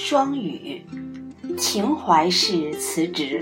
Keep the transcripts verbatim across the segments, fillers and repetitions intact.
双语，情怀式辞职。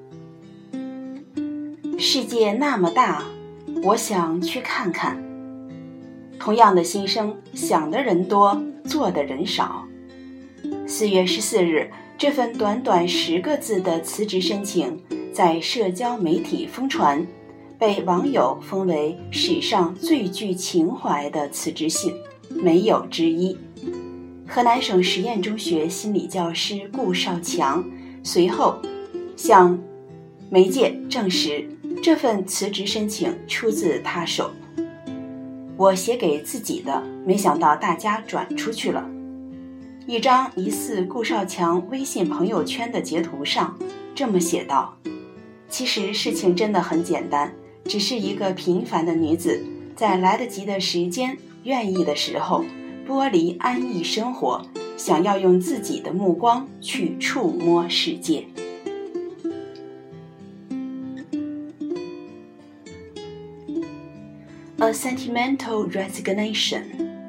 世界那么大，我想去看看。同样的心声，想的人多，做的人少。四月十四日，这份短短十个字的辞职申请在社交媒体疯传，被网友封为史上最具情怀的辞职信，没有之一。河南省实验中学心理教师顾少强随后向媒介证实，这份辞职申请出自他手。我写给自己的，没想到大家转出去了。一张疑似顾少强微信朋友圈的截图上这么写道：其实事情真的很简单，只是一个平凡的女子，在来得及的时间、愿意的时候，剥离安逸生活，想要用自己的目光去触摸世界。A sentimental resignation.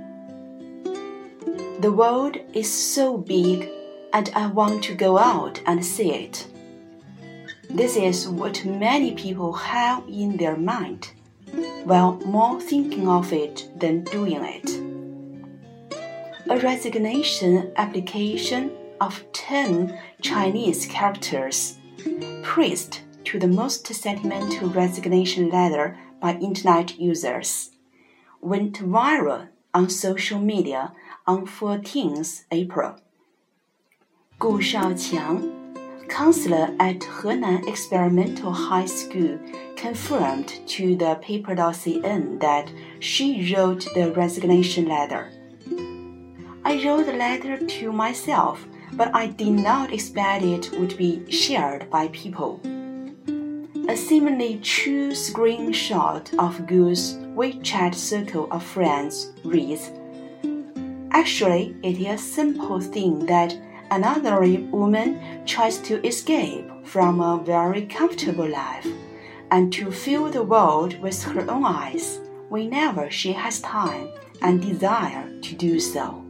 The world is so big, and I want to go out and see it. This is what many people have in their mind, while more thinking of it than doing it. A resignation application of ten Chinese characters, praised to the most sentimental resignation letter by internet users, went viral on social media on fourteenth April. 顾少强 counselor at Henan Experimental High School confirmed to the paper dot c n that she wrote the resignation letter. I wrote the letter to myself, but I did not expect it would be shared by people. A seemingly true screenshot of Gu's WeChat circle of friends reads, Actually, it is a simple thing that another woman tries to escape from a very comfortable life and to fill the world with her own eyes whenever she has time and desire to do so.